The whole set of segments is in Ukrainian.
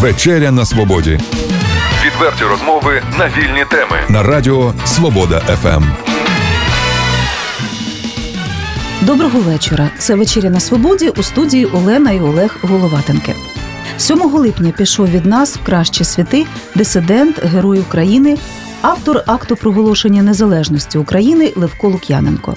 Вечеря на свободі. Відверті розмови на вільні теми. На радіо Свобода ФМ. Доброго вечора. Це «Вечеря на свободі», у студії Олена і Олег Головатенки. 7 липня пішов від нас в кращі світи дисидент, герой України, автор акту проголошення незалежності України Левко Лук'яненко.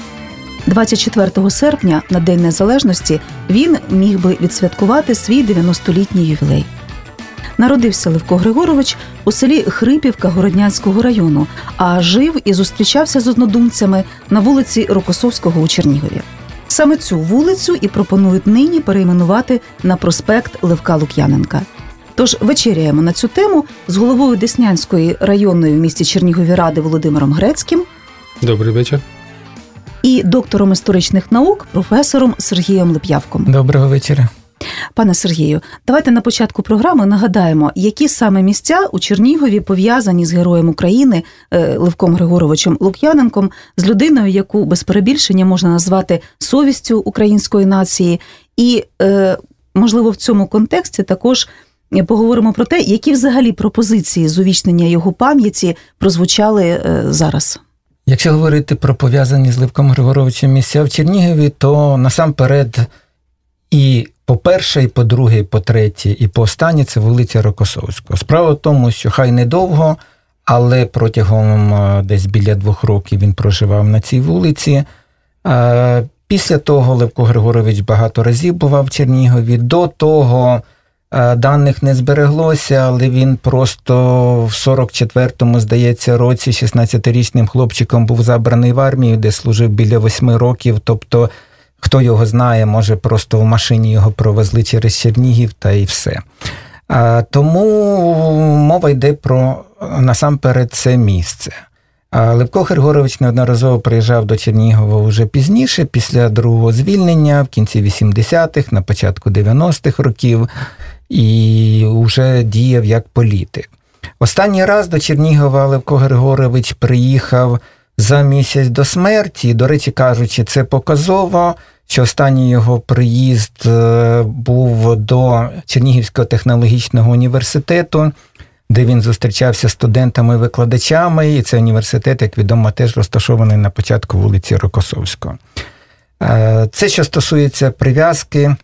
24 серпня, на День Незалежності, він міг би відсвяткувати свій 90-літній ювілей. Народився Левко Григорович у селі Хрипівка Городнянського району, а жив і зустрічався з однодумцями на вулиці Рокосовського у Чернігові. Саме цю вулицю і пропонують нині перейменувати на проспект Левка Лук'яненка. Тож вечеряємо на цю тему з головою Деснянської районної в місті Чернігові ради Володимиром Грецьким. Добрий вечір. І доктором історичних наук, професором Сергієм Леп'явком. Доброго вечора. Пане Сергію, давайте на початку програми нагадаємо, які саме місця у Чернігові пов'язані з героєм України Левком Григоровичем Лук'яненком, з людиною, яку без перебільшення можна назвати совістю української нації. І, можливо, в цьому контексті також поговоримо про те, які взагалі пропозиції з увічнення його пам'яті прозвучали зараз. Якщо говорити про пов'язані з Левком Григоровичем місця в Чернігові, то насамперед і по-перше, і по-друге, і по-третє, і по-останнє – це вулиця Рокосовського. Справа в тому, що хай недовго, але протягом десь біля 2 років він проживав на цій вулиці. Після того Левко Григорович багато разів бував в Чернігові. До того даних не збереглося, але він просто в 44-му, здається, році 16-річним хлопчиком був забраний в армію, де служив біля 8 років, тобто хто його знає, може просто в машині його провезли через Чернігів та і все. Тому мова йде про, насамперед, це місце. Левко Григорович неодноразово приїжджав до Чернігова вже пізніше, після другого звільнення, в кінці 80-х, на початку 90-х років, і вже діяв як політик. Останній раз до Чернігова Левко Григорович приїхав за місяць до смерті. До речі кажучи, це показово, що останній його приїзд був до Чернігівського технологічного університету, де він зустрічався з студентами-викладачами, і цей університет, як відомо, теж розташований на початку вулиці Рокосовського. Це, що стосується прив'язки,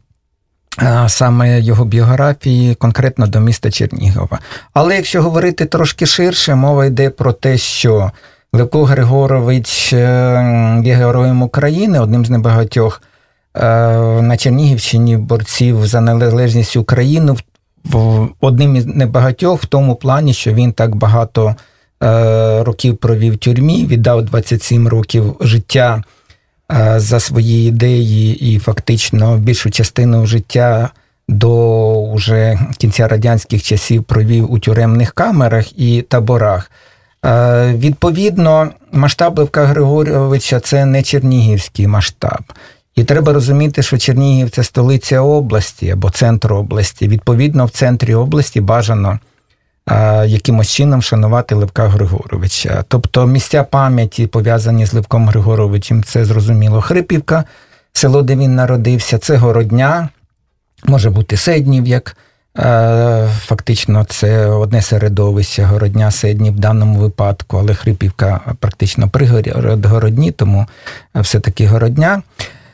саме його біографії, конкретно до міста Чернігова. Але якщо говорити трошки ширше, мова йде про те, що Левко Григорович є героєм України, одним з небагатьох на Чернігівщині борців за незалежність України, одним із небагатьох в тому плані, що він так багато років провів в тюрмі, віддав 27 років життя за свої ідеї і фактично більшу частину життя до уже кінця радянських часів провів у тюремних камерах і таборах. Відповідно, масштаб Левка Григоровича – це не чернігівський масштаб. І треба розуміти, що Чернігів – це столиця області або центр області. Відповідно, в центрі області бажано якимось чином вшанувати Левка Григоровича. Тобто місця пам'яті, пов'язані з Левком Григоровичем, це, зрозуміло, Хрипівка, село, де він народився, це Городня, може бути Седнів, як фактично це одне середовище, Городня, Седнів в даному випадку, але Хрипівка практично пригород Городні, тому все-таки Городня.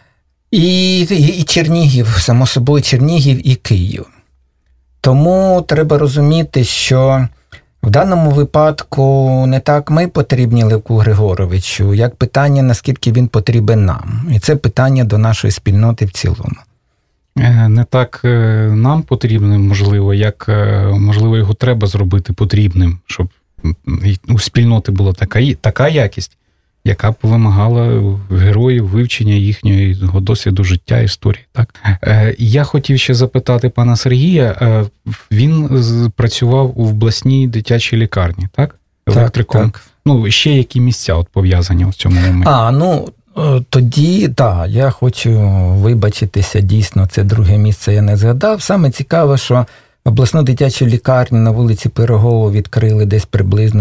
І Чернігів, само собою Чернігів і Київ. Тому треба розуміти, що в даному випадку не так ми потрібні Левку Григоровичу, як питання, наскільки він потрібен нам. І це питання до нашої спільноти в цілому. Не так нам потрібним, можливо, як, можливо, його треба зробити потрібним, щоб у спільноти була така якість, яка б вимагала героїв вивчення їхнього досвіду життя, історії. Так? Я хотів ще запитати пана Сергія, він працював у обласній дитячій лікарні, так? Електриком. Так. Ну, ще які місця от пов'язані в цьому моменті? Тоді, так, я хочу вибачитися, дійсно, це друге місце я не згадав. Саме цікаво, що обласну дитячу лікарню на вулиці Пирогова відкрили десь приблизно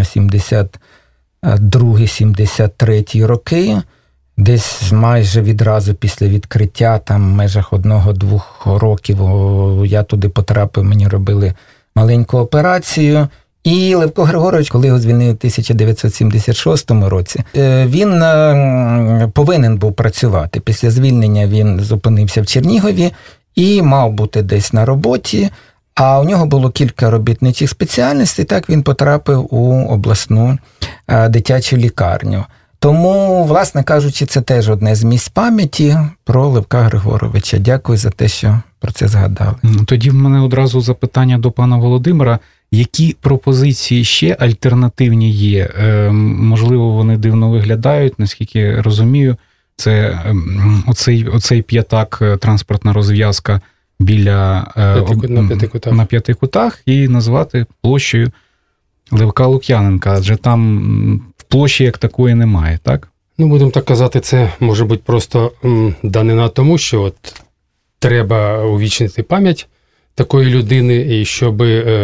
72-73 роки. Десь майже відразу після відкриття, там в межах 1-2 років я туди потрапив, мені робили маленьку операцію. І Левко Григорович, коли його звільнили в 1976 році, він повинен був працювати. Після звільнення він зупинився в Чернігові і мав бути десь на роботі, а у нього було кілька робітничих спеціальностей, так він потрапив у обласну дитячу лікарню. Тому, власне кажучи, це теж одне з місць пам'яті про Левка Григоровича. Дякую за те, що про це згадали. Тоді в мене одразу запитання до пана Володимира. Які пропозиції ще альтернативні є? Можливо, вони дивно виглядають, наскільки розумію. Це оцей п'ятак, транспортна розв'язка біля на п'яти кутах і назвати площею Левка Лук'яненка, адже там площі як такої немає, так? Ну, будемо так казати, це може бути просто данина тому, що от треба увічнити пам'ять такої людини, і щоб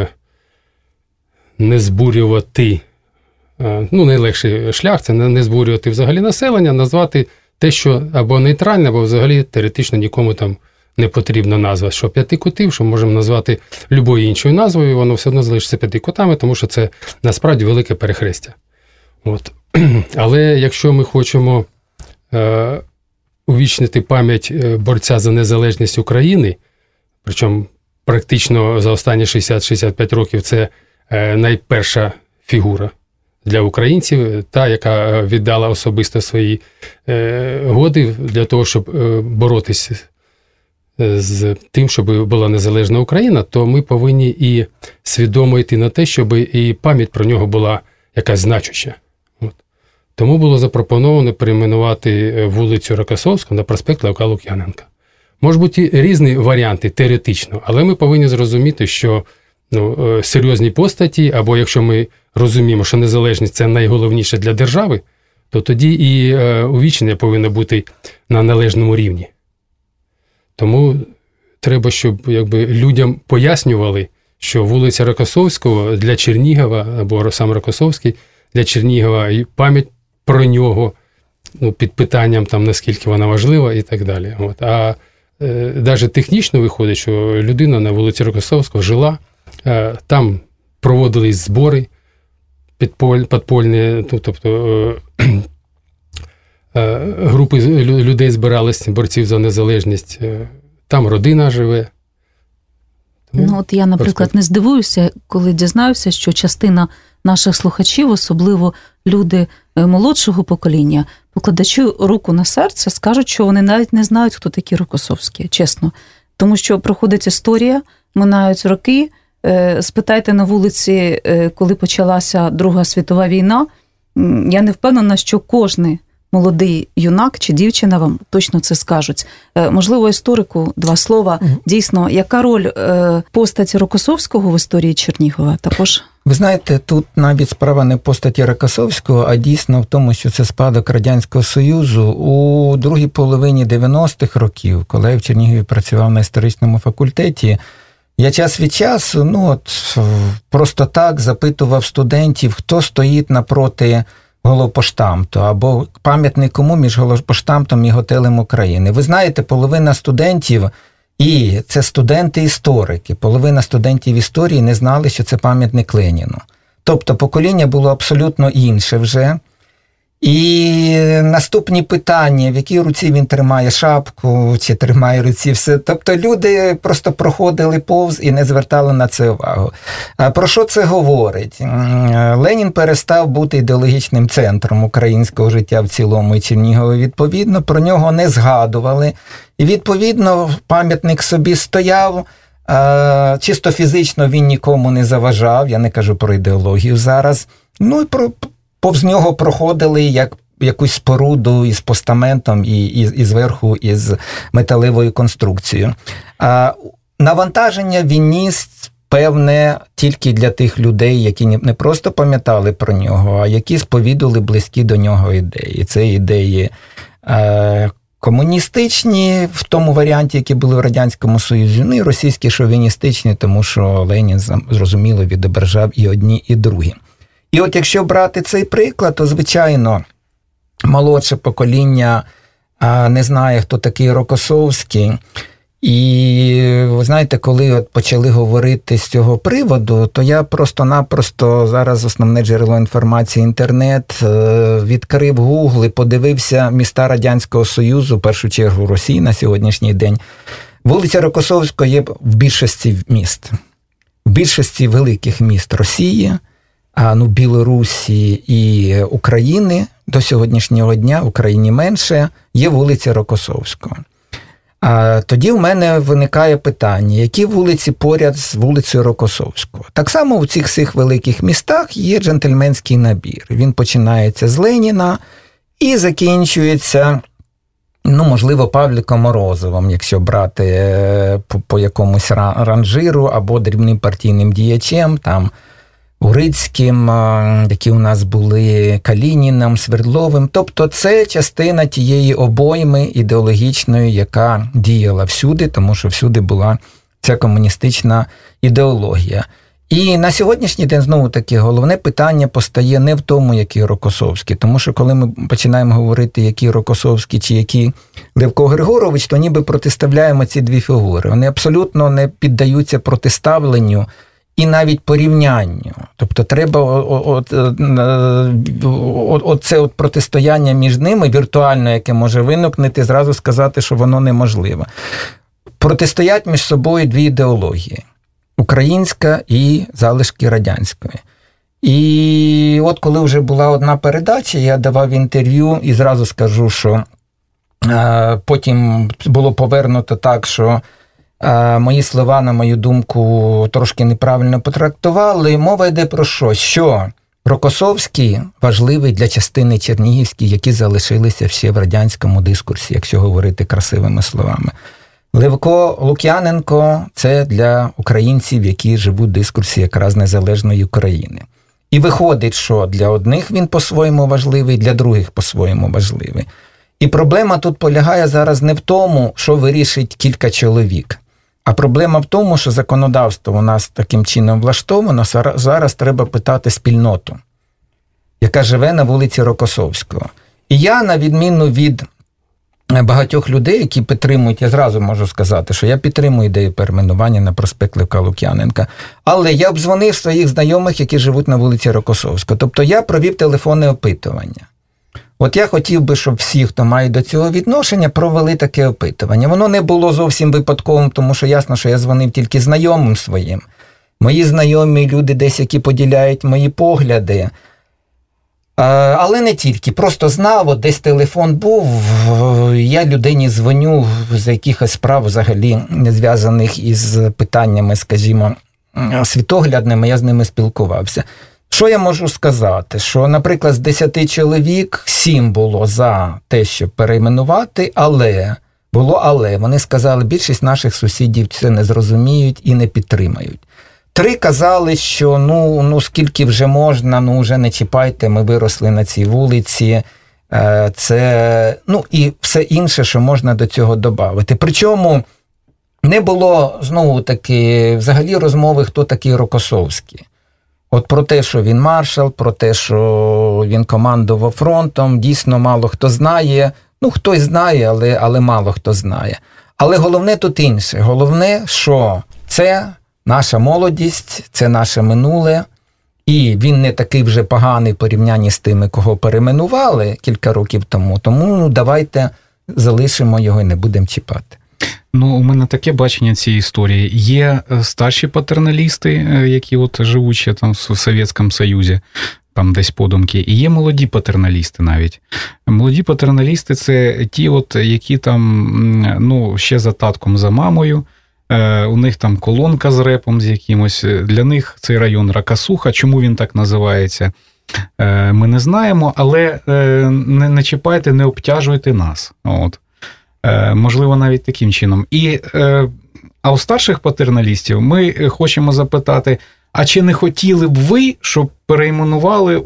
не збурювати, найлегший шлях, це не збурювати взагалі населення, назвати те, що або нейтральне, або взагалі теоретично нікому там не потрібна назва. Що п'яти кутів, що можемо назвати любою іншою назвою, воно все одно залишиться п'яти кутами, тому що це насправді велике перехрестя. От. Але якщо ми хочемо увічнити пам'ять борця за незалежність України, причому практично за останні 60-65 років це найперша фігура для українців, та, яка віддала особисто свої годи для того, щоб боротися з тим, щоб була незалежна Україна, то ми повинні і свідомо йти на те, щоб і пам'ять про нього була якась значуща. От. Тому було запропоновано перейменувати вулицю Рокосовську на проспект Левка Лук'яненка. Можуть бути різні варіанти теоретично, але ми повинні зрозуміти, що серйозні постаті, або якщо ми розуміємо, що незалежність – це найголовніше для держави, то тоді і увічнення повинно бути на належному рівні. Тому треба, щоб людям пояснювали, що вулиця Рокосовського для Чернігова, або сам Рокосовський для Чернігова, і пам'ять про нього під питанням, наскільки вона важлива і так далі. От. А навіть технічно виходить, що людина на вулиці Рокосовського жила, там проводились збори підпольні, тобто групи людей збиралися, борців за незалежність, там родина живе. От я, наприклад, не здивуюся, коли дізнаюся, що частина наших слухачів, особливо люди молодшого покоління, покладачи руку на серце, скажуть, що вони навіть не знають, хто такі Рокосовські, чесно. Тому що проходить історія, минають роки. Спитайте на вулиці, коли почалася Друга світова війна, я не впевнена, що кожний молодий юнак чи дівчина вам точно це скажуть. Можливо, історику два слова. Дійсно, яка роль постаті Рокосовського в історії Чернігова також? Ви знаєте, тут навіть справа не в постаті Рокосовського, а дійсно в тому, що це спадок Радянського Союзу. У другій половині 90-х років, коли я в Чернігові працював на історичному факультеті, я час від часу, просто так запитував студентів, хто стоїть напроти Головпоштамту, або пам'ятник кому між Головпоштамтом і Готелем України. Ви знаєте, половина студентів, і це студенти-історики, половина студентів історії не знали, що це пам'ятник Леніну. Тобто покоління було абсолютно інше вже. І наступні питання, в якій руці він тримає шапку, чи тримає в руці все. Тобто люди просто проходили повз і не звертали на це увагу. Про що це говорить? Ленін перестав бути ідеологічним центром українського життя в цілому, і Чернігові, відповідно, про нього не згадували. І, відповідно, пам'ятник собі стояв, чисто фізично він нікому не заважав, я не кажу про ідеологію зараз. І повз нього проходили як якусь споруду із постаментом і зверху із металевою конструкцією. Навантаження він ніс певне тільки для тих людей, які не просто пам'ятали про нього, а які сповідували близькі до нього ідеї. Це ідеї комуністичні в тому варіанті, які були в Радянському Союзі, і російські шовіністичні, тому що Ленін, зрозуміло, відображав і одні, і другі. І от якщо брати цей приклад, то, звичайно, молодше покоління не знає, хто такий Рокосовський. І, ви знаєте, коли от почали говорити з цього приводу, то я просто-напросто зараз основне джерело інформації інтернет, відкрив Google і подивився міста Радянського Союзу, в першу чергу Росії на сьогоднішній день. Вулиця Рокосовського є в більшості міст. В більшості великих міст Росії, Білорусі і України до сьогоднішнього дня, в Україні менше, є вулиця Рокосовського. Тоді в мене виникає питання, які вулиці поряд з вулицею Рокосовського. Так само в цих всіх великих містах є джентльменський набір. Він починається з Леніна і закінчується, можливо, Павліком Морозовим, якщо брати по якомусь ранжиру, або дрібним партійним діячем, там, Урицьким, які у нас були, Калініном, Свердловим. Тобто це частина тієї обойми ідеологічної, яка діяла всюди, тому що всюди була ця комуністична ідеологія. І на сьогоднішній день, знову-таки, головне питання постає не в тому, який Рокосовський, тому що коли ми починаємо говорити, який Рокосовський чи який Левко Григорович, то ніби протиставляємо ці дві фігури. Вони абсолютно не піддаються протиставленню і навіть порівнянню. Тобто треба оце протистояння між ними, віртуально, яке може виникнути, зразу сказати, що воно неможливе. Протистоять між собою дві ідеології. Українська і залишки радянської. І от коли вже була одна передача, я давав інтерв'ю і зразу скажу, що потім було повернуто так, що мої слова, на мою думку, трошки неправильно потрактували. Мова йде про що Рокосовський важливий для частини чернігівської, які залишилися ще в радянському дискурсі, якщо говорити красивими словами. Левко Лук'яненко – це для українців, які живуть в дискурсі якраз незалежної України. І виходить, що для одних він по-своєму важливий, для других по-своєму важливий. І проблема тут полягає зараз не в тому, що вирішить кілька чоловік, а проблема в тому, що законодавство у нас таким чином влаштовано, зараз треба питати спільноту, яка живе на вулиці Рокосовського. І я, на відміну від багатьох людей, які підтримують, я зразу можу сказати, що я підтримую ідею перейменування на проспект Левка Лук'яненка, але я обдзвонив своїх знайомих, які живуть на вулиці Рокосовського. Тобто я провів телефонне опитування. От я хотів би, щоб всі, хто має до цього відношення, провели таке опитування. Воно не було зовсім випадковим, тому що ясно, що я дзвонив тільки знайомим своїм. Мої знайомі люди десь, які поділяють мої погляди. Але не тільки. Просто знав, от десь телефон був, я людині дзвоню за якихось справ взагалі не зв'язаних із питаннями, скажімо, світоглядними, я з ними спілкувався. Що я можу сказати? Що, наприклад, з 10 чоловік 7 було за те, щоб перейменувати, але вони сказали, більшість наших сусідів це не зрозуміють і не підтримають. 3 казали, що скільки вже можна, вже не чіпайте, ми виросли на цій вулиці, це, і все інше, що можна до цього додати. Причому не було, знову-таки, взагалі розмови, хто такий Рокосовський. От про те, що він маршал, про те, що він командував фронтом, дійсно мало хто знає. Хтось знає, але мало хто знає. Але головне тут інше. Головне, що це наша молодість, це наше минуле, і він не такий вже поганий в порівнянні з тими, кого перейменували кілька років тому. Тому давайте залишимо його і не будемо чіпати. У мене таке бачення цієї історії. Є старші патерналісти, які живуть ще там в Совєтському Союзі, там десь подумки, і є молоді патерналісти навіть. Молоді патерналісти – це ті, які там, ще за татком, за мамою, у них там колонка з репом з якимось, для них цей район Ракасуха, чому він так називається, ми не знаємо, але не чіпайте, не обтяжуйте нас. Можливо, навіть таким чином. А у старших патерналістів ми хочемо запитати, а чи не хотіли б ви, щоб перейменували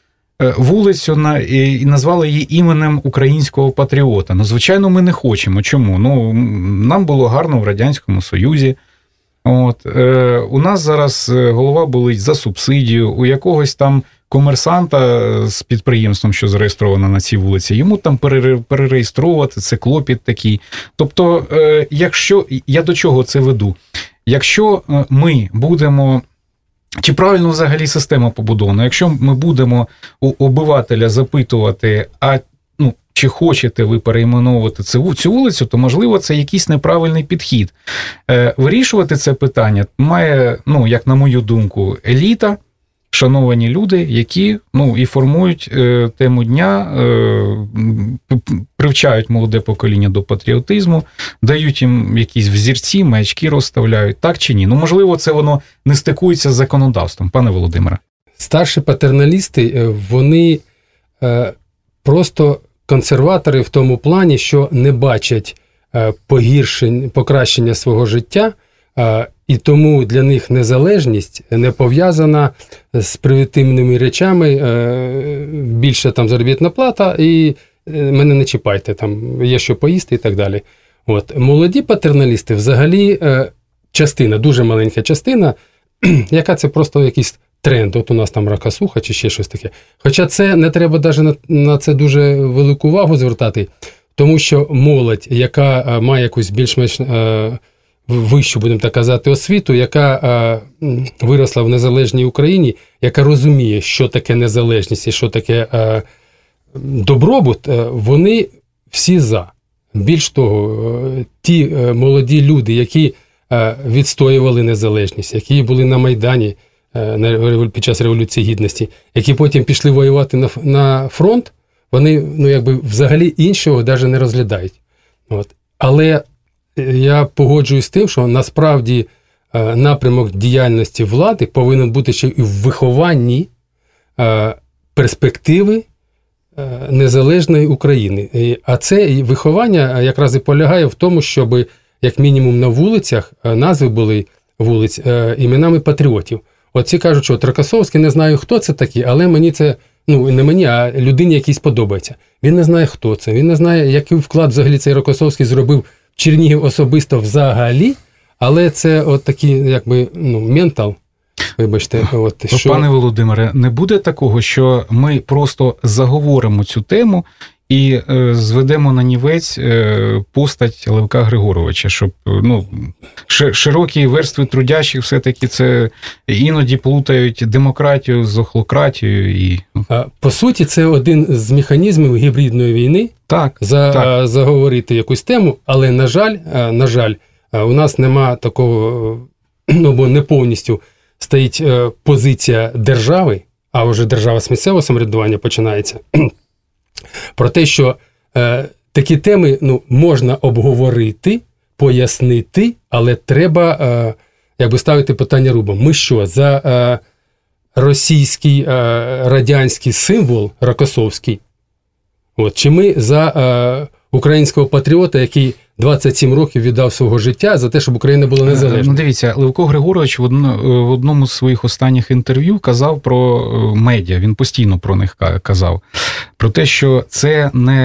вулицю і назвали її іменем українського патріота? Звичайно, ми не хочемо. Чому? Нам було гарно в Радянському Союзі. У нас зараз голова болить за субсидію, у якогось там комерсанта з підприємством, що зареєстровано на цій вулиці, йому там перереєструвати, це клопіт такий. Тобто, якщо, я до чого це веду? Якщо ми будемо, чи правильно взагалі система побудована, якщо ми будемо у обивателя запитувати, чи хочете ви перейменовувати цю вулицю, то, можливо, це якийсь неправильний підхід. Вирішувати це питання має, як на мою думку, еліта, шановані люди, які і формують тему дня, привчають молоде покоління до патріотизму, дають їм якісь взірці, маячки розставляють, так чи ні? Можливо, це воно не стикується з законодавством, пане Володимире. Старші патерналісти, вони просто консерватори в тому плані, що не бачать покращення свого життя, і тому для них незалежність не пов'язана з привітивними речами, більше там заробітна плата, і мене не чіпайте, там є що поїсти і так далі. Молоді патерналісти взагалі частина, дуже маленька частина, яка це просто якийсь тренд, у нас там ракосуха чи ще щось таке. Хоча це не треба навіть на це дуже велику увагу звертати, тому що молодь, яка має якусь більш-менш вищу, будемо так казати, освіту, яка виросла в незалежній Україні, яка розуміє, що таке незалежність і що таке добробут, вони всі за. Більш того, ті молоді люди, які відстоювали незалежність, які були на Майдані під час Революції Гідності, які потім пішли воювати на фронт, вони взагалі іншого навіть не розглядають. Але я погоджуюсь з тим, що насправді напрямок діяльності влади повинен бути ще і в вихованні перспективи незалежної України. А це виховання якраз і полягає в тому, щоб як мінімум на вулицях назви були вулиць іменами патріотів. Ці кажуть, що Рокосовський, не знаю, хто це такий, але мені це, не мені, а людині якійсь подобається. Він не знає, хто це, він не знає, який вклад взагалі цей Рокосовський зробив в Чернігів особисто взагалі, але це такий, ментал, вибачте. Що... Пане Володимире, не буде такого, що ми просто заговоримо цю тему і зведемо на нівець постать Левка Григоровича, щоб широкі верстви трудящих все-таки це іноді плутають демократію з охлократією. По суті, це один з механізмів гібридної війни. Так. Заговорити якусь тему, але, на жаль, у нас нема такого, бо не повністю стоїть позиція держави, а вже держава з місцевого самоврядування починається. Про те, що такі теми можна обговорити, пояснити, але треба ставити питання рубом. Ми що, за російський, радянський символ Рокосовський? Чи ми за українського патріота, який 27 років віддав свого життя за те, щоб Україна була незалежна? Дивіться, Левко Григорович в одному з своїх останніх інтерв'ю казав про медіа, він постійно про них казав. Про те, що це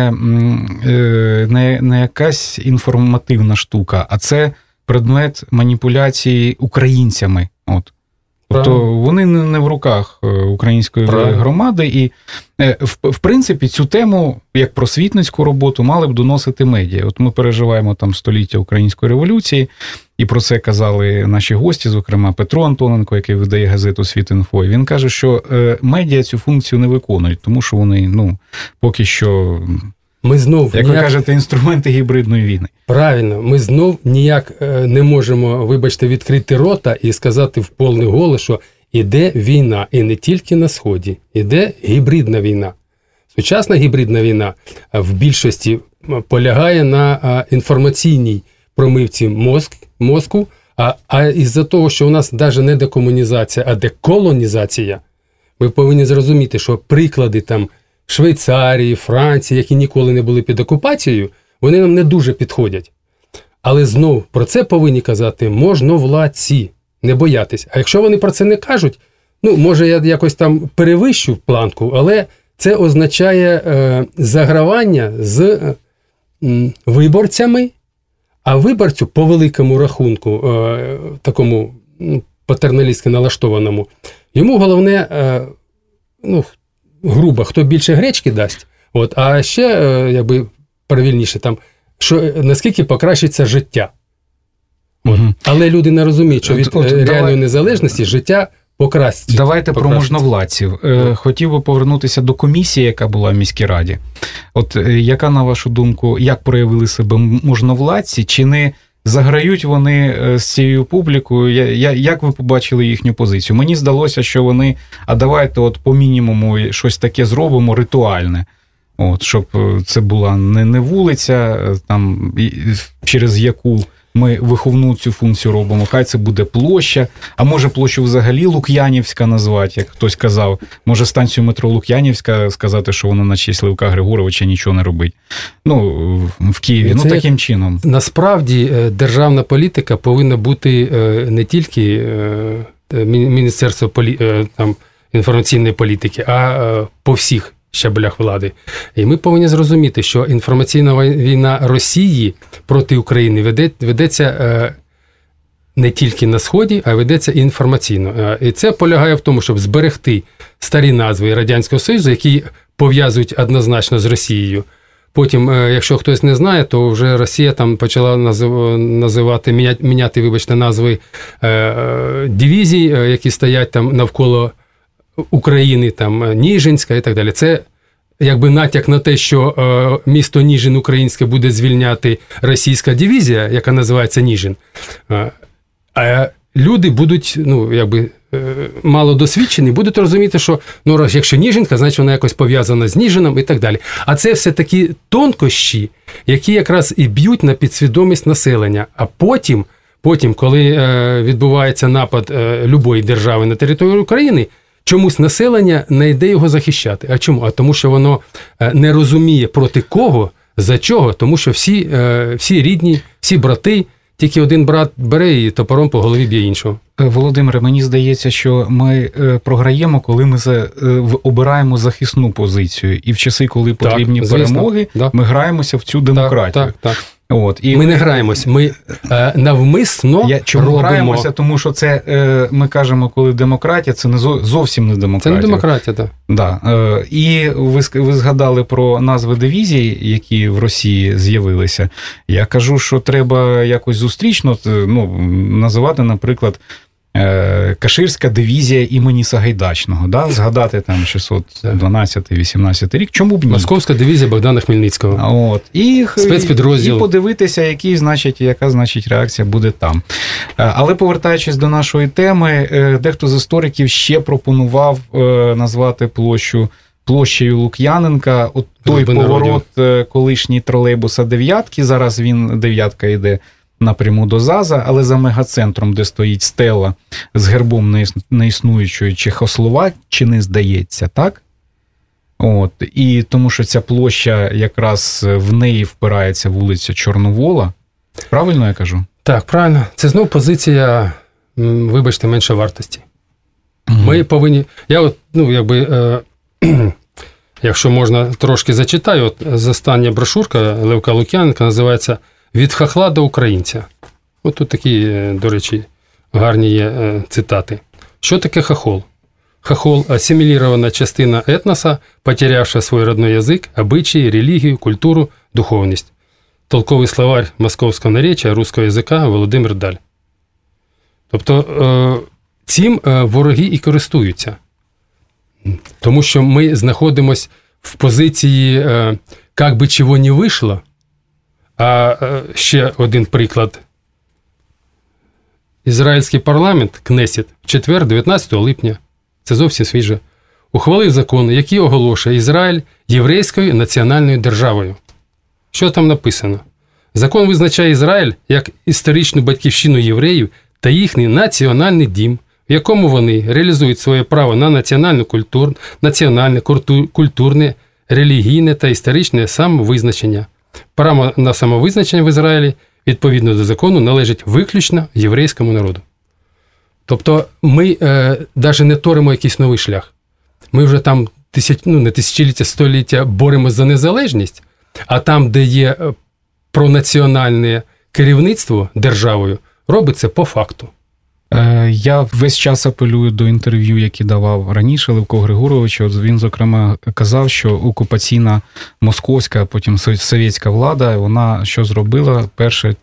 не якась інформативна штука, а це предмет маніпуляції українцями. Тобто вони не в руках української громади, і в принципі цю тему, як просвітницьку роботу, мали б доносити медіа. Ми переживаємо там століття Української революції, і про це казали наші гості, зокрема Петро Антоненко, який видає газету «Світ.Інфо». Він каже, що медіа цю функцію не виконують, тому що вони, поки що... Ми знов ви кажете, інструменти гібридної війни. Правильно, ми знов ніяк не можемо, вибачте, відкрити рота і сказати в повний голос, що іде війна, і не тільки на Сході, іде гібридна війна. Сучасна гібридна війна в більшості полягає на інформаційній промивці мозку, а із-за того, що у нас навіть не декомунізація, а деколонізація, ми повинні зрозуміти, що приклади там Швейцарії, Франції, які ніколи не були під окупацією, вони нам не дуже підходять. Але знов про це повинні казати можновладці, не боятись. А якщо вони про це не кажуть, може я якось там перевищу планку, але це означає загравання з виборцями, а виборцю по великому рахунку, такому патерналістськи налаштованому, йому головне грубо, хто більше гречки дасть, а ще, правильніше, там, що наскільки покращиться життя. Але люди не розуміють, що від реальної незалежності життя покращиться. Давайте про можновладців. Хотів би повернутися до комісії, яка була в міській раді. Яка, на вашу думку, як проявили себе можновладці, чи не заграють вони з цією публікою? Як ви побачили їхню позицію? Мені здалося, що вони, давайте по мінімуму щось таке зробимо ритуальне. Щоб це була не вулиця, там, через яку ми виховну цю функцію робимо, хай це буде площа, а може площу взагалі Лук'янівська назвати, як хтось казав, може станцію метро Лук'янівська сказати, що вона на честь Левка Григоровича нічого не робить. В Києві, таким чином. Насправді державна політика повинна бути не тільки Міністерство інформаційної політики, а по всіх щаблях влади. І ми повинні зрозуміти, що інформаційна війна Росії проти України ведеться не тільки на Сході, а ведеться і інформаційно. І це полягає в тому, щоб зберегти старі назви Радянського Союзу, які пов'язують однозначно з Росією. Потім, якщо хтось не знає, то вже Росія там почала міняти назви дивізій, які стоять там навколо України, там Ніжинська і так далі. Це натяк на те, що місто Ніжин українське буде звільняти російська дивізія, яка називається Ніжин. А люди будуть, мало досвідчені, будуть розуміти, що, якщо Ніжинка, значить вона якось пов'язана з Ніжином і так далі. А це все такі тонкощі, які якраз і б'ють на підсвідомість населення. А потім, коли відбувається напад любої держави на територію України, чомусь населення не йде його захищати. А чому? А тому, що воно не розуміє проти кого, за чого, тому що всі рідні, всі брати, тільки один брат бере і топором по голові б'є іншого. Володимире, мені здається, що ми програємо, коли ми обираємо захисну позицію. І в часи, коли потрібні перемоги, ми граємося в цю демократію. Так. Ми не граємось, ми навмисно робимо. Граємося, тому що це, ми кажемо, коли демократія, це зовсім не демократія. Це не демократія, так. Да. І ви згадали про назви дивізій, які в Росії з'явилися. Я кажу, що треба якось зустрічно називати, наприклад, Каширська дивізія імені Сагайдачного, згадати там 612-18 рік, чому б ні? Московська дивізія Богдана Хмельницького. Спецпідрозділ. І подивитися, яка реакція буде там. Але повертаючись до нашої теми, дехто з істориків ще пропонував назвати площею Лук'яненка, той поворот колишній тролейбуса «Дев'ятки», зараз він «Дев'ятка» йде напряму до ЗАЗа, але за мегацентром, де стоїть стела з гербом неіснуючої Чехословаччини, здається, так? І тому що ця площа, якраз в неї впирається вулиця Чорновола. Правильно я кажу? Так, правильно. Це знову позиція, вибачте, меншовартості. Ми повинні... якщо можна, трошки зачитаю. Остання брошурка Левка Лук'яненка називається «Від хахла до українця». Тут такі, до речі, гарні є цитати. Що таке хохол? Хохол – ассимилированная частина этноса, потерявшая свой родной язык, обычаи, религию, культуру, духовність. Толковий словарь московського наречия русского язика Володимир Даль. Тобто, цим вороги і користуються. Тому що ми знаходимося в позиції «як би чого не вийшло». А ще один приклад. Ізраїльський парламент, Кнесет, в четвер, 19 липня, це зовсім свіже, ухвалив закон, який оголошує Ізраїль єврейською національною державою. Що там написано? Закон визначає Ізраїль як історичну батьківщину євреїв та їхній національний дім, в якому вони реалізують своє право на національне, культурне, релігійне та історичне самовизначення. Право на самовизначення в Ізраїлі, відповідно до закону, належить виключно єврейському народу. Тобто ми навіть не торимо якийсь новий шлях. Ми вже там не тисячоліття, століття боремося за незалежність, а там, де є пронаціональне керівництво державою, робиться по факту. Я весь час апелюю до інтерв'ю, які давав раніше Левко Григорович. От він, зокрема, казав, що окупаційна московська, потім совєтська влада, вона що зробила? Перше,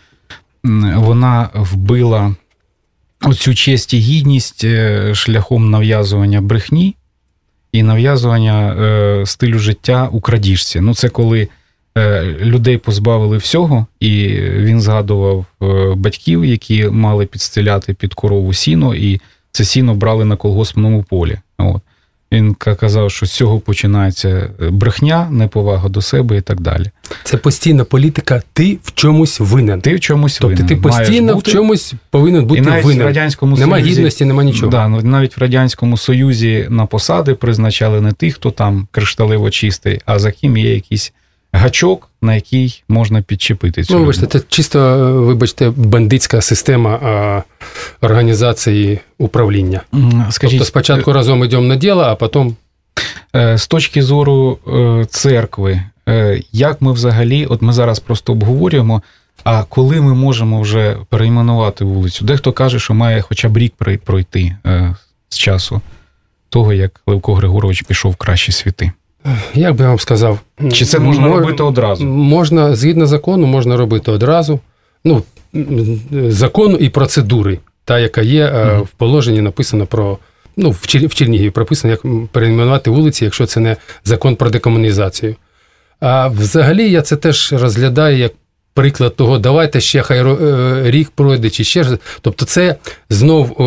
вона вбила оцю честь і гідність шляхом нав'язування брехні і нав'язування стилю життя у крадіжці. Ну, це коли людей позбавили всього, і він згадував батьків, які мали підстеляти під корову сіно, і це сіно брали на колгоспному полі. От. Він казав, що з цього починається брехня, неповага до себе і так далі. Це постійна політика, ти в чомусь винен. Ти в чомусь винен. Тобто ти постійно в чомусь повинен бути винен. В Радянському нема Союзі, гідності, нема нічого. Да, навіть в Радянському Союзі на посади призначали не тих, хто там кришталево чистий, а за ким є якийсь гачок, на який можна підчепити цю людину. Це чисто, бандитська система організації управління. Скажіть, тобто спочатку разом йдемо на діло, а потім... З точки зору церкви, як ми взагалі, от ми зараз просто обговорюємо, а коли ми можемо вже перейменувати вулицю? Дехто каже, що має хоча б рік пройти з часу того, як Левко Григорович пішов в кращі світи. Як би я вам сказав? Чи це можна робити одразу? Можна, згідно закону, можна робити одразу. Ну, закону і процедури, та, яка є в положенні, написано про, ну, в Чернігові прописано, як перейменувати вулиці, якщо це не закон про декомунізацію. А взагалі я це теж розглядаю як приклад того, давайте ще хай рік пройде, чи ще. Тобто це знов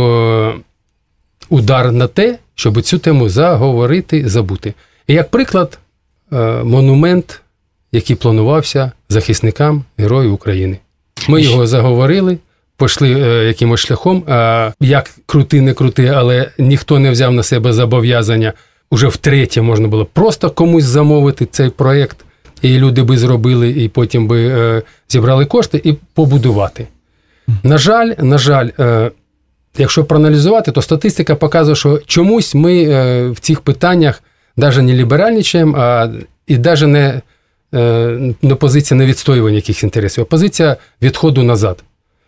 удар на те, щоб цю тему заговорити, забути. І як приклад, монумент, який планувався захисникам Героїв України. Ми його заговорили, пішли якимось шляхом, як крути, не крути, але ніхто не взяв на себе зобов'язання. Уже втретє можна було просто комусь замовити цей проєкт, і люди би зробили, і потім би зібрали кошти і побудувати. На жаль, якщо проаналізувати, то статистика показує, що чомусь ми в цих питаннях навіть не ліберальничаємо, і навіть не позиція не відстоювання якихось інтересів, а позиція відходу назад.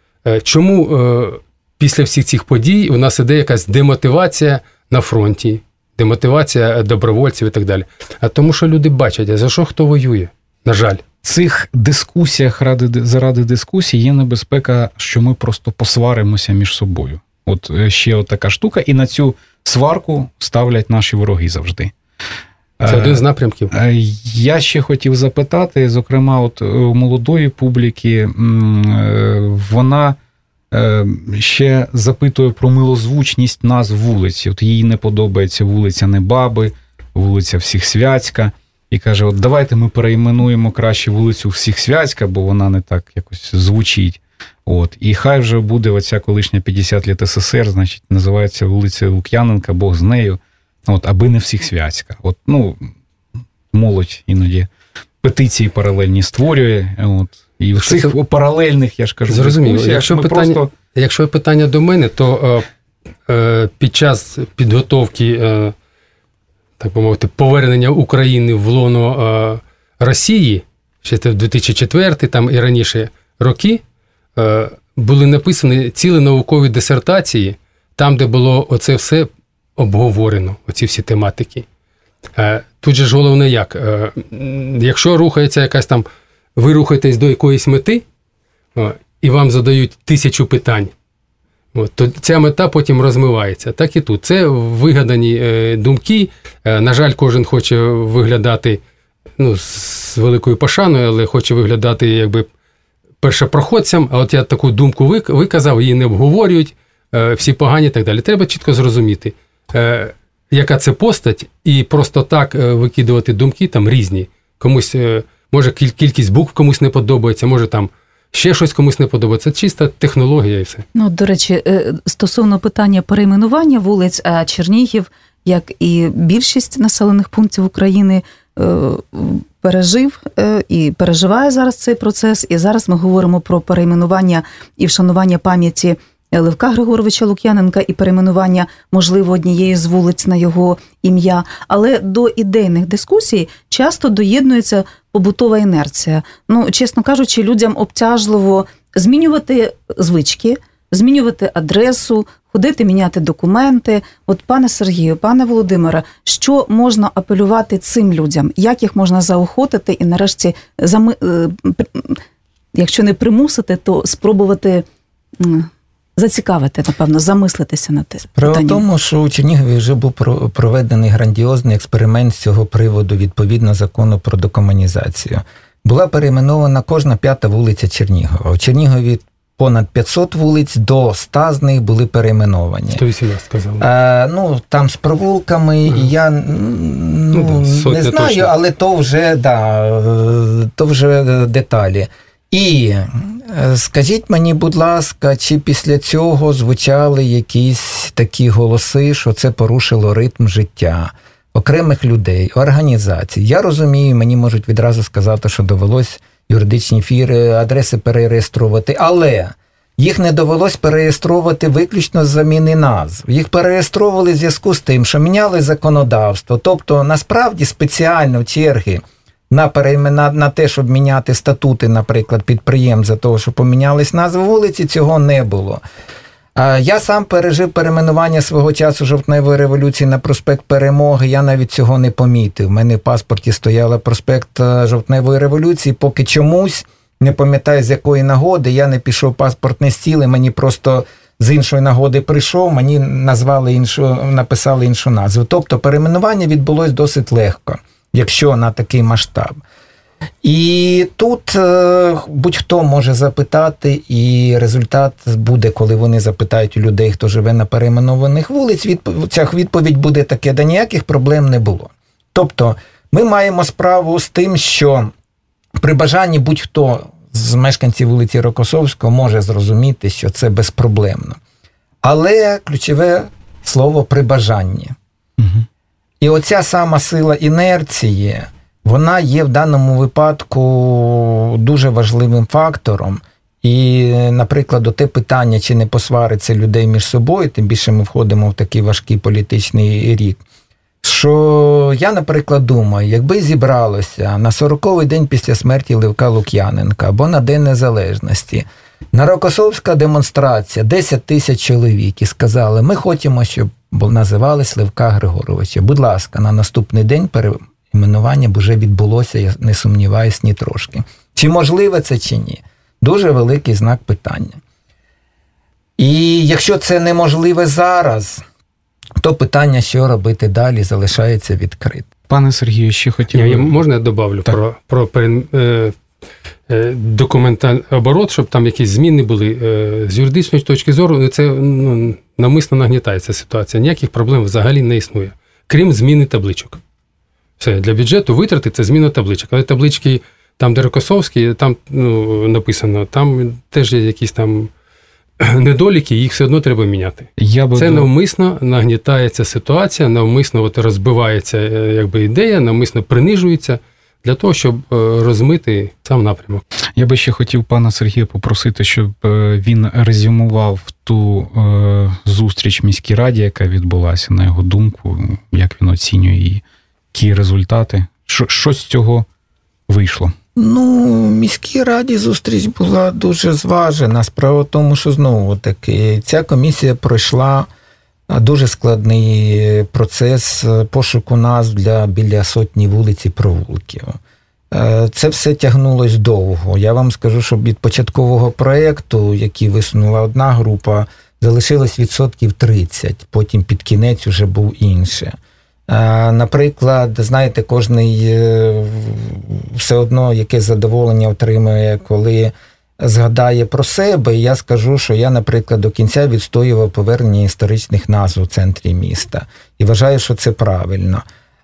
Чому після всіх цих подій у нас іде якась демотивація на фронті, демотивація добровольців і так далі? А тому, що люди бачать, а за що хто воює, на жаль. В цих дискусіях заради дискусій є небезпека, що ми просто посваримося між собою. От ще така штука, і на цю сварку ставлять наші вороги завжди. Це один з напрямків. Я ще хотів запитати, зокрема, от у молодої публіки, вона ще запитує про милозвучність назв вулиці. От їй не подобається вулиця Небаби, вулиця Всіхсвятська. І каже, от давайте ми перейменуємо краще вулицю Всіхсвятська, бо вона не так якось звучить. От. І хай вже буде оця колишня 50 літ СССР, значить, називається вулиця Лук'яненка, Бог з нею. От, аби не Всіхсвятська. От, ну, молодь іноді петиції паралельні створює. От, і в цих паралельних, я ж кажу, зрозуміло. Якщо питання до мене, то під час підготовки, так би мовити, повернення України в лоно Росії, ще в 2004 там і раніше роки, були написані цілі наукові дисертації, там, де було оце все обговорено, оці всі тематики. Тут же ж головне як? Якщо рухається якась там, ви рухаєтесь до якоїсь мети, і вам задають 1000 питань, то ця мета потім розмивається. Так і тут. Це вигадані думки. На жаль, кожен хоче виглядати, ну, з великою пошаною, але хоче виглядати якби першопроходцям, а от я таку думку виказав, її не обговорюють, всі погані і так далі. Треба чітко зрозуміти, яка це постать, і просто так викидувати думки там різні. Комусь, може, кількість букв комусь не подобається, може там ще щось комусь не подобається. Це чиста технологія і все. Ну, до речі, стосовно питання перейменування вулиць, Чернігів, як і більшість населених пунктів України, пережив і переживає зараз цей процес. І зараз ми говоримо про перейменування і вшанування пам'яті Левка Григоровича Лук'яненка і перейменування, можливо, однієї з вулиць на його ім'я. Але до ідейних дискусій часто доєднується побутова інерція. Ну, чесно кажучи, людям обтяжливо змінювати звички, змінювати адресу, ходити, міняти документи. От, пане Сергію, пане Володимире, що можна апелювати цим людям? Як їх можна заохотити і нарешті, якщо не примусити, то спробувати зацікавити, напевно, замислитися над тим питанням? Справа в тому, що у Чернігові вже був проведений грандіозний експеримент з цього приводу відповідно закону про декомунізацію. Була перейменована кожна 5-та вулиця Чернігова. У Чернігові понад 500 вулиць, до 100 з них були перейменовані. 118 сказали. Там з провулками, і я не знаю, точно. Але то вже деталі. І скажіть мені, будь ласка, чи після цього звучали якісь такі голоси, що це порушило ритм життя окремих людей, організацій? Я розумію, мені можуть відразу сказати, що довелось юридичні адреси перереєструвати, але їх не довелось перереєструвати виключно з заміни назв. Їх перереєстровували в зв'язку з тим, що міняли законодавство. Тобто, насправді, спеціально черги на те, щоб міняти статути, наприклад, підприємств за того, що помінялись назви вулиці, цього не було. Я сам пережив перейменування свого часу Жовтневої революції на проспект Перемоги, я навіть цього не помітив. У мене в паспорті стояла проспект Жовтневої революції, поки чомусь, не пам'ятаю з якої нагоди, я не пішов в паспортний стіл, і мені просто з іншої нагоди прийшов, мені написали іншу назву. Тобто перейменування відбулось досить легко, якщо на такий масштаб. І тут будь-хто може запитати, і результат буде, коли вони запитають у людей, хто живе на перейменованих вулиць, ця відповідь буде таке: да ніяких проблем не було. Тобто ми маємо справу з тим, що при бажанні будь-хто з мешканців вулиці Рокосовського може зрозуміти, що це безпроблемно. Але ключове слово «при бажанні». Угу. І оця сама сила інерції, вона є в даному випадку дуже важливим фактором. І, наприклад, те питання, чи не посвариться людей між собою, тим більше ми входимо в такий важкий політичний рік, що я, наприклад, думаю, якби зібралося на 40-й день після смерті Левка Лук'яненка або на День Незалежності, на Рокосовська демонстрація, 10 тисяч чоловік, і сказали: ми хочемо, щоб називались Левка Григоровича. Будь ласка, на наступний день перейменування б вже відбулося, я не сумніваюсь ні трошки. Чи можливо це, чи ні? Дуже великий знак питання. І якщо це неможливе зараз, то питання, що робити далі, залишається відкритим. Пане Сергію, ще хотів... Можна я добавлю про документальний оборот, щоб там якісь зміни були? З юридичної точки зору, це навмисно нагнітається ситуація. Ніяких проблем взагалі не існує, крім зміни табличок. Все, для бюджету витрати – це зміна табличок. Але таблички, там, де Рокосовський, там написано, там теж є якісь там недоліки, їх все одно треба міняти. Це навмисно нагнітається ситуація, навмисно розбивається ідея, навмисно принижується для того, щоб розмити сам напрямок. Я би ще хотів пана Сергія попросити, щоб він резюмував ту зустріч в міській раді, яка відбулася, на його думку, як він оцінює її, які результати, що з цього вийшло. В міській раді зустріч була дуже зважена. Справа в тому, що знову-таки ця комісія пройшла дуже складний процес пошуку назв для біля сотні вулиць і провулків. Це все тягнулось довго. Я вам скажу, що від початкового проєкту, який висунула одна група, залишилось 30%, потім під кінець уже був інше. Наприклад, знаєте, кожний все одно якесь задоволення отримує, коли згадає про себе. І я скажу, що я, наприклад, до кінця відстоював повернення історичних назв у центрі міста. І вважаю, що це правильно.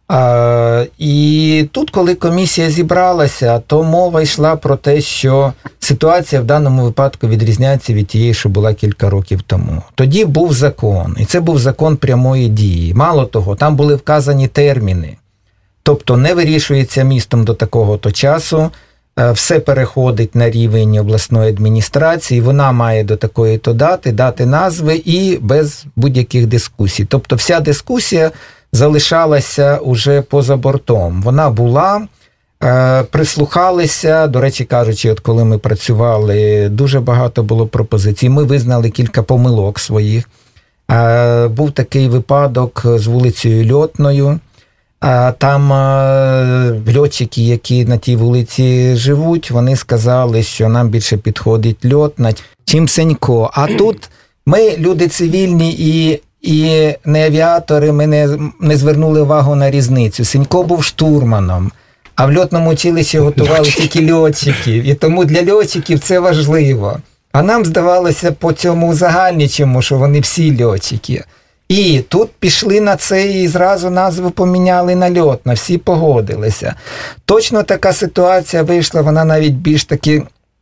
І тут, коли комісія зібралася, то мова йшла про те, що ситуація в даному випадку відрізняється від тієї, що була кілька років тому. Тоді був закон, і це був закон прямої дії. Мало того, там були вказані терміни. Тобто не вирішується містом до такого-то часу, все переходить на рівень обласної адміністрації, вона має до такої-то дати назви і без будь-яких дискусій. Тобто вся дискусія залишалася уже поза бортом. Вона була, Прислухалися, до речі кажучи, от коли ми працювали, дуже багато було пропозицій. Ми визнали кілька помилок своїх. Був такий випадок з вулицею Льотною. Там льотчики, які на тій вулиці живуть, вони сказали, що нам більше підходить Льотна, чим Сенько. А тут ми, люди цивільні і не авіатори, ми не звернули увагу на різницю. Сенько був штурманом, а в льотному училищі готували тільки льотчиків. І тому для льотчиків це важливо. А нам здавалося по цьому узагальничому, що вони всі льотчики. І тут пішли на це і зразу назву поміняли на Льотна, всі погодилися. Точно така ситуація вийшла, вона навіть більш таки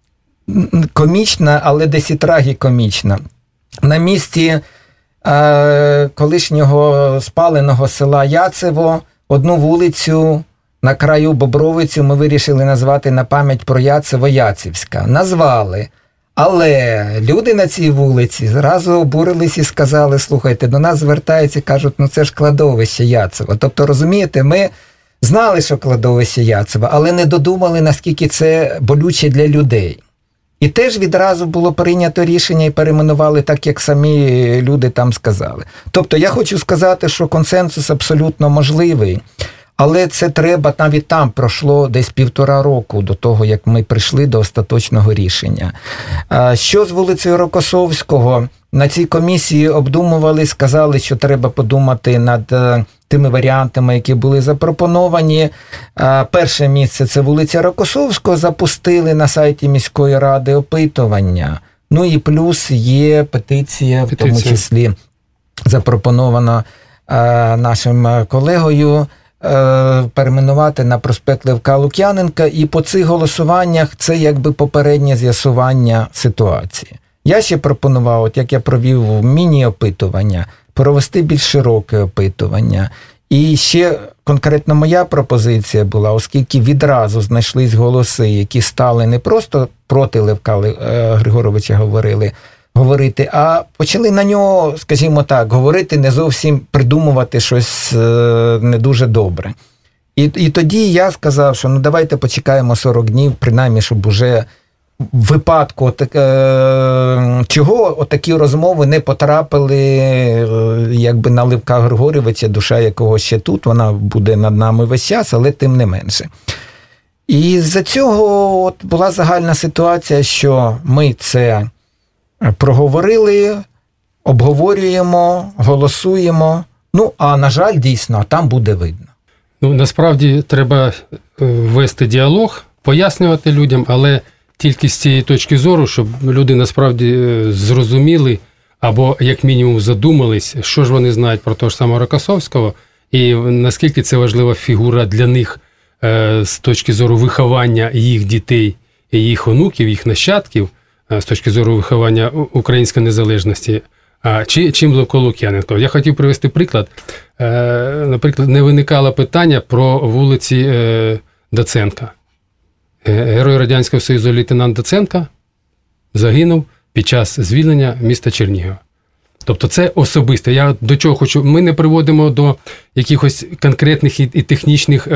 комічна, але десь і трагікомічна. На місці колишнього спаленого села Яцево одну вулицю на краю Бобровицю ми вирішили назвати на пам'ять про Яцево Яцівська. Назвали. Але люди на цій вулиці зразу обурились і сказали, слухайте, до нас звертаються, кажуть, ну це ж кладовище Яцево. Тобто, розумієте, ми знали, що кладовище Яцево, але не додумали, наскільки це болюче для людей. І теж відразу було прийнято рішення і перейменували так, як самі люди там сказали. Тобто, я хочу сказати, що консенсус абсолютно можливий. Але це треба, навіть там пройшло десь 1,5 року до того, як ми прийшли до остаточного рішення. Що з вулицею Рокосовського? На цій комісії обдумували, сказали, що треба подумати над тими варіантами, які були запропоновані. Перше місце – це вулиця Рокосовського, запустили на сайті міської ради опитування. Ну і плюс є петиція, в тому числі запропонована нашим колегою, перейменувати на проспект Левка Лук'яненка, і по цих голосуваннях це якби попереднє з'ясування ситуації. Я ще пропонував, от як я провів міні-опитування, провести більш широке опитування. І ще конкретно моя пропозиція була, оскільки відразу знайшлись голоси, які стали не просто проти Левка Григоровича говорити, а почали на нього, скажімо так, говорити, не зовсім придумувати щось не дуже добре. І тоді я сказав, що ну давайте почекаємо 40 днів, принаймні, щоб уже в випадку чого отакі розмови не потрапили якби на Левка Григоровича, душа якого ще тут, вона буде над нами весь час, але тим не менше. І з-за цього от була загальна ситуація, що ми це проговорили, обговорюємо, голосуємо. Ну, а на жаль, дійсно, там буде видно. Ну, насправді треба вести діалог, пояснювати людям, але тільки з цієї точки зору, щоб люди насправді зрозуміли або як мінімум задумались, що ж вони знають про того ж самого Рокосовського і наскільки це важлива фігура для них з точки зору виховання їх дітей, їх онуків, їх нащадків, з точки зору виховання української незалежності, чим Левко Лук'яненко. Я хотів привести приклад. Наприклад, не виникало питання про вулиці Доценка. Герой Радянського Союзу лейтенант Доценка загинув під час звільнення міста Чернігова. Тобто це особисто. Я до чого хочу. Ми не приводимо до якихось конкретних і технічних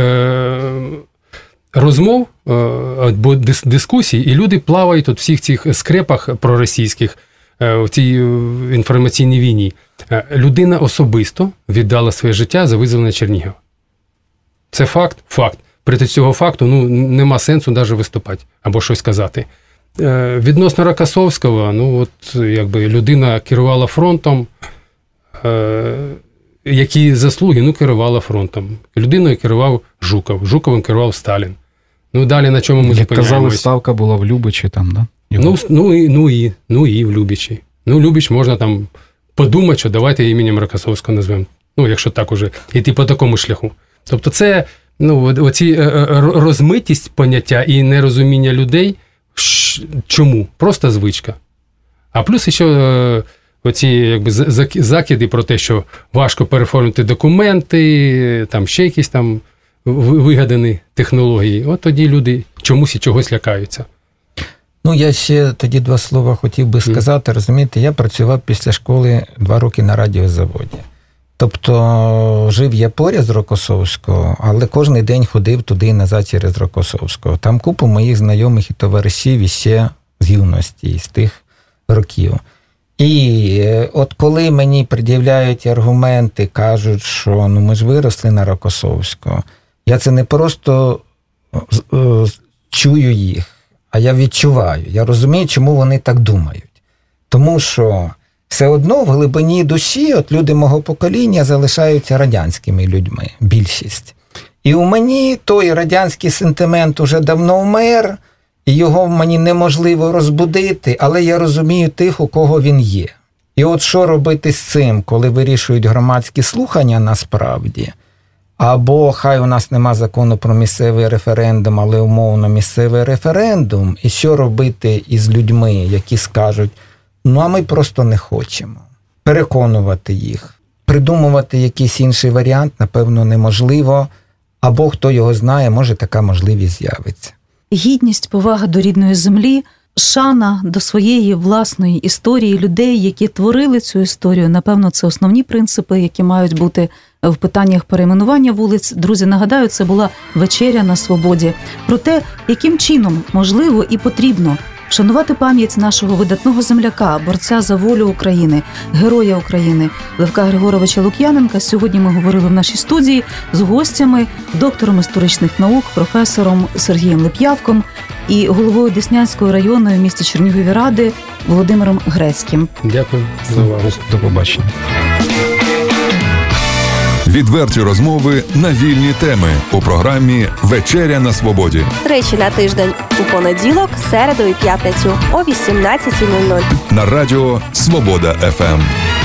розмов або дискусій, і люди плавають у всіх цих скрепах проросійських в цій інформаційній війні. Людина особисто віддала своє життя за визволення Чернігова. Це факт? Факт. При цього факту нема сенсу навіть виступати або щось казати. Відносно Рокосовського, якби людина керувала фронтом, які заслуги, керувала фронтом. Людиною керував Жуков, Жуковим керував Сталін. Далі на чому ми зупиняємося? Казали, ставка була в Любичі там, да? І в Любичі. Любіч можна там подумати, що давайте іменем Рокосовського назвемо. Якщо так уже йти по такому шляху. Тобто це, оці розмитість поняття і нерозуміння людей, чому? Просто звичка. А плюс ще оці якби закиди про те, що важко переформити документи, там ще якісь там вигадані технології. От тоді люди чомусь і чогось лякаються. Я ще тоді 2 слова хотів би сказати. Розумієте, я працював після школи 2 роки на радіозаводі. Тобто жив я поряд з Рокосовського, але кожен день ходив туди і назад через Рокосовського. Там купу моїх знайомих і товаришів іще з юності, з тих років. І от коли мені пред'являють аргументи, кажуть, що ми ж виросли на Рокосовського, я це не просто чую їх, а я відчуваю. Я розумію, чому вони так думають. Тому що все одно в глибині душі от люди мого покоління залишаються радянськими людьми, більшість. І у мені той радянський сентимент уже давно вмер, і його мені неможливо розбудити, але я розумію тих, у кого він є. І от що робити з цим, коли вирішують громадські слухання насправді, або хай у нас нема закону про місцевий референдум, але умовно місцевий референдум, і що робити із людьми, які скажуть, а ми просто не хочемо. Переконувати їх, придумувати якийсь інший варіант, напевно, неможливо, або хто його знає, може така можливість з'явиться. Гідність, повага до рідної землі, шана до своєї власної історії, людей, які творили цю історію, напевно, це основні принципи, які мають бути в питаннях перейменування вулиць. Друзі, нагадаю, це була вечеря на свободі. Про те, яким чином можливо і потрібно вшанувати пам'ять нашого видатного земляка, борця за волю України, героя України Левка Григоровича Лук'яненка. Сьогодні ми говорили в нашій студії з гостями, доктором історичних наук, професором Сергієм Лип'явком і головою Деснянської районної в місті Чернігові ради Володимиром Грецьким. Дякую за увагу. До побачення. Відверті розмови на вільні теми у програмі «Вечеря на свободі». Тричі на тиждень у понеділок, середу і п'ятницю о 18:00. На радіо «Свобода ФМ».